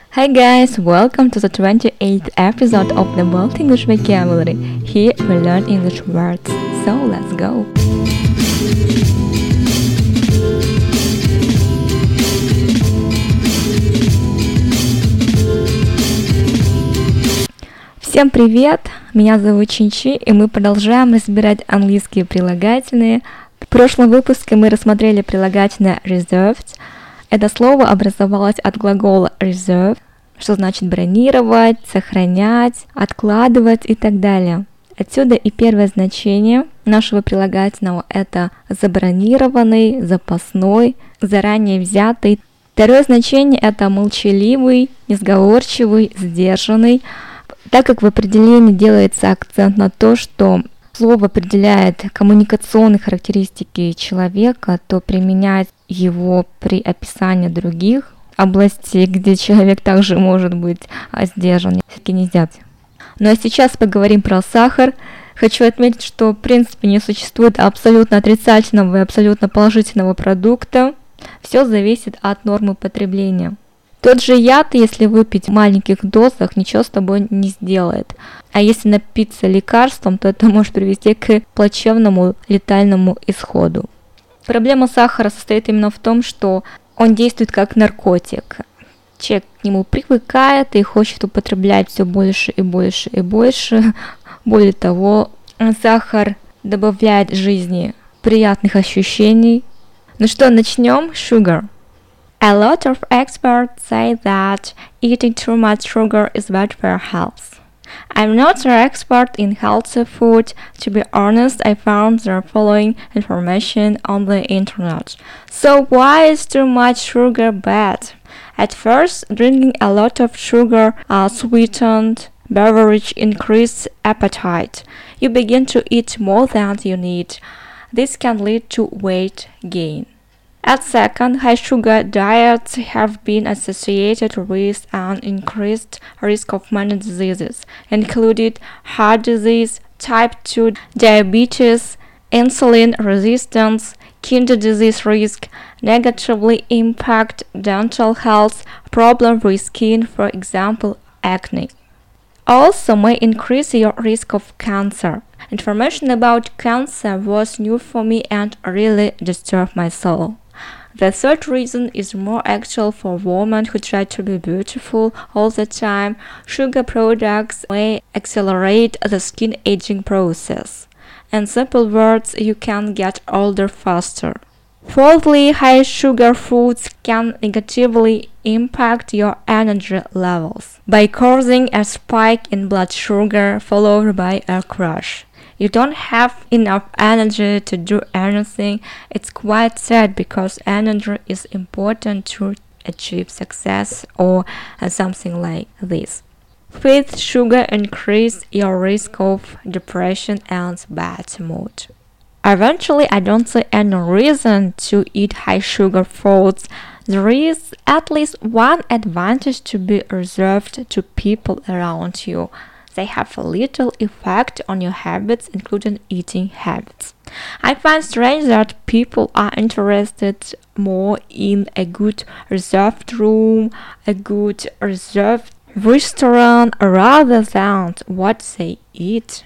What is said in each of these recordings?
Hi guys, welcome to the 28th episode of the World English Vocabulary. Here we learn English words, so let's go! Всем привет! Меня зовут Чинчи, и мы продолжаем разбирать английские прилагательные. В прошлом выпуске мы рассмотрели прилагательное reserved. Это слово образовалось от глагола reserve, что значит бронировать, сохранять, откладывать и так далее. Отсюда и первое значение нашего прилагательного – это забронированный, запасной, заранее взятый. Второе значение – это молчаливый, несговорчивый, сдержанный. Так как в определении делается акцент на то, что слово определяет коммуникационные характеристики человека, то применять его при описании других областей, где человек также может быть сдержан, все-таки нельзя. Ну а сейчас поговорим про сахар. Хочу отметить, что в принципе не существует абсолютно отрицательного и абсолютно положительного продукта. Все зависит от нормы потребления. Тот же яд, если выпить в маленьких дозах, ничего с тобой не сделает. А если напиться лекарством, то это может привести к плачевному летальному исходу. Проблема сахара состоит именно в том, что он действует как наркотик. Человек к нему привыкает и хочет употреблять все больше и больше и больше. Более того, сахар добавляет жизни приятных ощущений. Ну что, начнем? Sugar. A lot of experts say that eating too much sugar is bad for health. I'm not an expert in healthy food. To be honest, I found the following information on the internet. So why is too much sugar bad? At first, drinking a lot of sugar sweetened beverage increases appetite. You begin to eat more than you need. This can lead to weight gain. At second, high sugar diets have been associated with an increased risk of many diseases, including heart disease, type 2 diabetes, insulin resistance, kidney disease risk, negatively impact dental health, problems with skin, for example, acne. Also may increase your risk of cancer. Information about cancer was new for me and really disturbed my soul. The third reason is more actual for women who try to be beautiful all the time. Sugar products may accelerate the skin aging process. In simple words, you can get older faster. Fourthly, high sugar foods can negatively impact your energy levels by causing a spike in blood sugar followed by a crash. You don't have enough energy to do anything. It's quite sad because energy is important to achieve success or something like this. Fifth, sugar increase your risk of depression and bad mood. Eventually, I don't see any reason to eat high sugar foods. There is at least one advantage to be reserved to people around you. They have a little effect on your habits, including eating habits. I find strange that people are interested more in a good reserved room, a good reserved restaurant, rather than what they eat.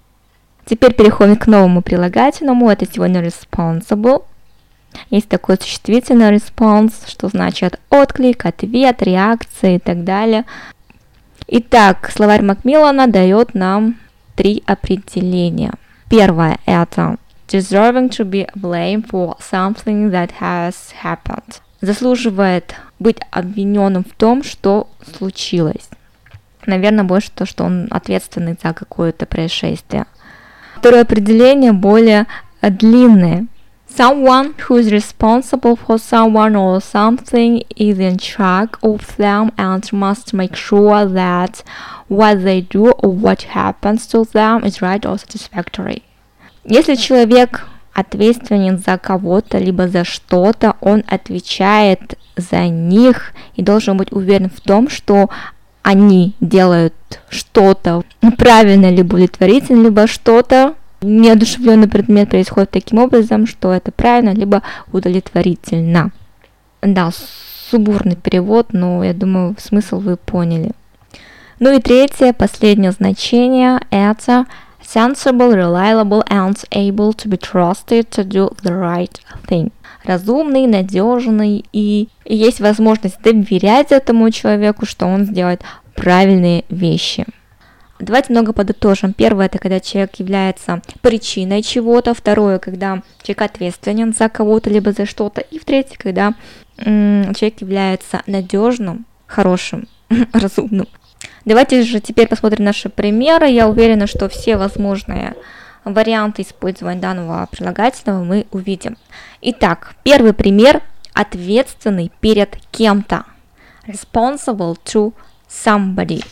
Теперь переходим к новому прилагательному. Это сегодня responsible. Есть такое существительное response, что значит отклик, ответ, реакция и так далее. Итак, словарь Макмиллана дает нам 3 определения. Первое – это deserving to be blamed for something that has happened. Заслуживает быть обвиненным в том, что случилось. Наверное, больше то, что он ответственный за какое-то происшествие. Второе определение более длинное. Someone who is responsible for someone or something is in charge of them and must make sure that what they do or what happens to them is right or satisfactory. Если человек ответственен за кого-то, либо за что-то, он отвечает за них и должен быть уверен в том, что они делают что-то правильно, либо удовлетворительно, либо что-то неодушевленный предмет происходит таким образом, что это правильно, либо удовлетворительно. Да, сумбурный перевод, но я думаю, смысл вы поняли. Ну и третье, последнее значение – это sensible, reliable and able to be trusted to do the right thing. Разумный, надежный, и есть возможность доверять этому человеку, что он сделает правильные вещи. Давайте много подытожим. Первое – это когда человек является причиной чего-то. Второе – когда человек ответственен за кого-то, либо за что-то. И в-третьих, когда человек является надежным, хорошим, разумным. Давайте же теперь посмотрим наши примеры. Я уверена, что все возможные варианты использования данного прилагательного мы увидим. Итак, первый пример – ответственный перед кем-то. Responsible to somebody.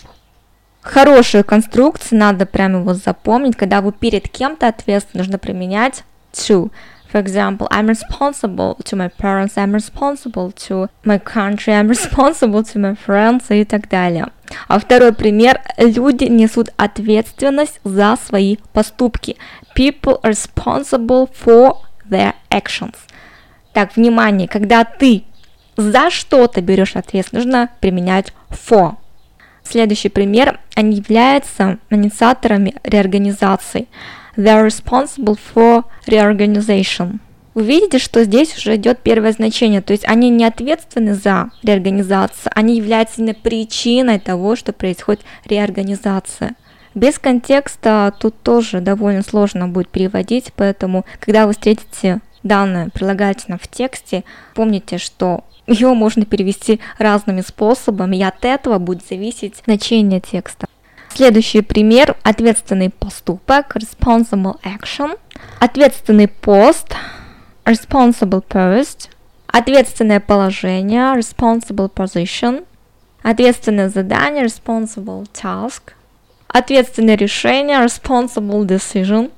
Хорошая конструкция, надо прямо его запомнить. Когда вы перед кем-то ответственны, нужно применять to. For example, I'm responsible to my parents, I'm responsible to my country, I'm responsible to my friends и так далее. А второй пример. Люди несут ответственность за свои поступки. People are responsible for their actions. Так, внимание, когда ты за что-то берешь ответственность, нужно применять for. Следующий пример. Они являются инициаторами реорганизации. They are responsible for reorganization. Вы видите, что здесь уже идет первое значение, то есть они не ответственны за реорганизацию, они являются именно причиной того, что происходит реорганизация. Без контекста тут тоже довольно сложно будет переводить, поэтому, когда вы встретите данное прилагательное в тексте, помните, что его можно перевести разными способами, и от этого будет зависеть значение текста. Следующий пример – ответственный поступок, responsible action, ответственный пост, responsible post, ответственное положение, responsible position, ответственное задание, responsible task, ответственное решение, responsible decision.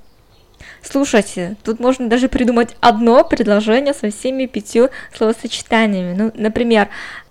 Слушайте, тут можно даже придумать одно предложение со всеми 5 словосочетаниями. Ну, например,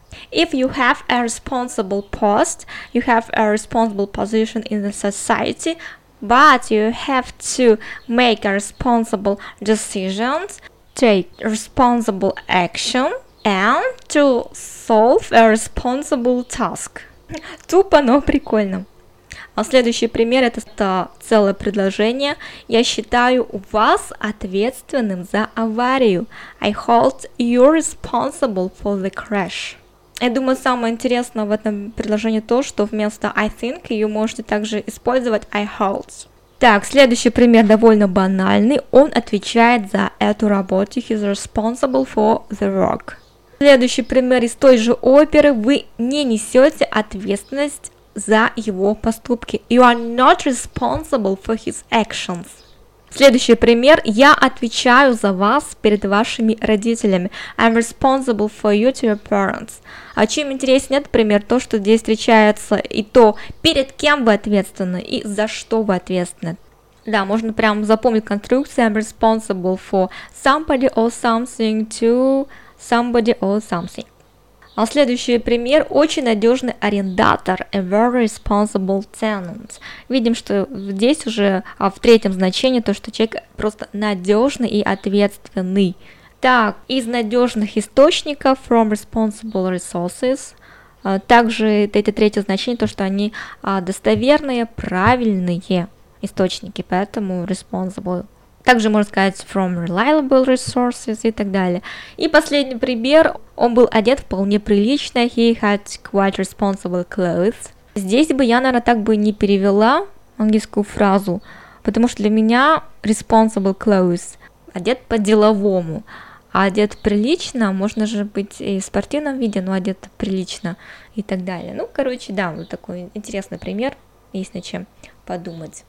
if you have a responsible post, you have a responsible position in the society, but you have to make a responsible decisions, take responsible action, and to solve a responsible task. Тупо, но прикольно. А следующий пример – это целое предложение. Я считаю вас ответственным за аварию. I hold you responsible for the crash. Я думаю, самое интересное в этом предложении то, что вместо I think ее можете также использовать I hold. Так, следующий пример довольно банальный. Он отвечает за эту работу. He is responsible for the work. Следующий пример из той же оперы. Вы не несете ответственность за его поступки. You are not responsible for his actions. Следующий пример. Я отвечаю за вас перед вашими родителями. I'm responsible for you to your parents. А чем интереснее этот пример, то, что здесь встречается и то, перед кем вы ответственны и за что вы ответственны. Да, можно прям запомнить конструкцию I'm responsible for somebody or something to somebody or something. А следующий пример. Очень надежный арендатор. A very responsible tenant. Видим, что здесь уже в третьем значении то, что человек просто надежный и ответственный. Так, из надежных источников from responsible resources. Также это третье значение, то, что они достоверные, правильные источники, поэтому responsible. Также можно сказать from reliable resources и так далее. И последний пример. Он был одет вполне прилично. He had quite responsible clothes. Здесь бы я, наверное, так бы не перевела английскую фразу, потому что для меня responsible clothes одет по-деловому. А одет прилично, можно же быть и в спортивном виде, но одет прилично и так далее. Ну, короче, да, вот такой интересный пример, есть над чем подумать.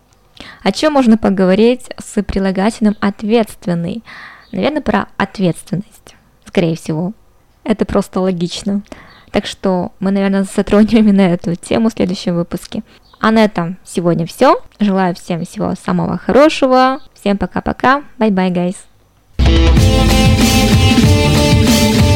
О чем можно поговорить с прилагательным ответственный? Наверное, про ответственность, скорее всего. Это просто логично. Так что мы, наверное, затронем именно эту тему в следующем выпуске. А на этом сегодня все. Желаю всем всего самого хорошего. Всем пока-пока. Bye-bye, guys.